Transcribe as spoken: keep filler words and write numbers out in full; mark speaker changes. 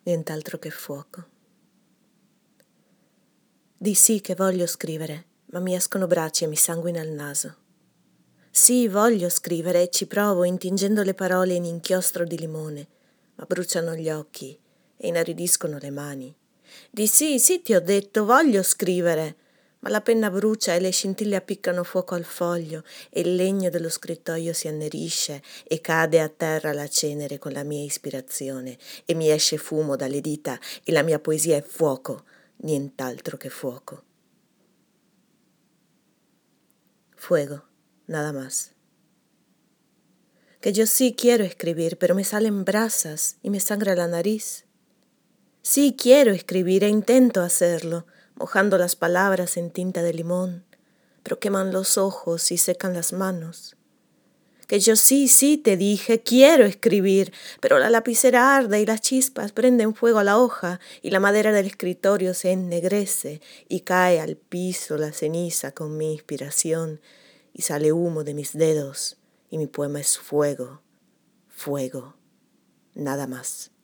Speaker 1: nient'altro che fuoco. Di sì che voglio scrivere, ma mi escono braccia e mi sanguina il naso. Sì, voglio scrivere e ci provo intingendo le parole in inchiostro di limone, ma bruciano gli occhi e inaridiscono le mani. Di sì, sì ti ho detto, voglio scrivere, ma la penna brucia e le scintille appiccano fuoco al foglio e il legno dello scrittoio si annerisce e cade a terra la cenere con la mia ispirazione e mi esce fumo dalle dita e la mia poesia è fuoco, nient'altro che fuoco. Fuego, nada más. Que yo sí quiero escribir, pero me salen brasas y me sangra la nariz. Sí quiero escribir e intento hacerlo, mojando las palabras en tinta de limón, pero queman los ojos y secan las manos. Que yo sí, sí te dije, quiero escribir, pero la lapicera arde y las chispas prenden fuego a la hoja y la madera del escritorio se ennegrece y cae al piso la ceniza con mi inspiración y sale humo de mis dedos y mi poema es fuego, fuego, nada más.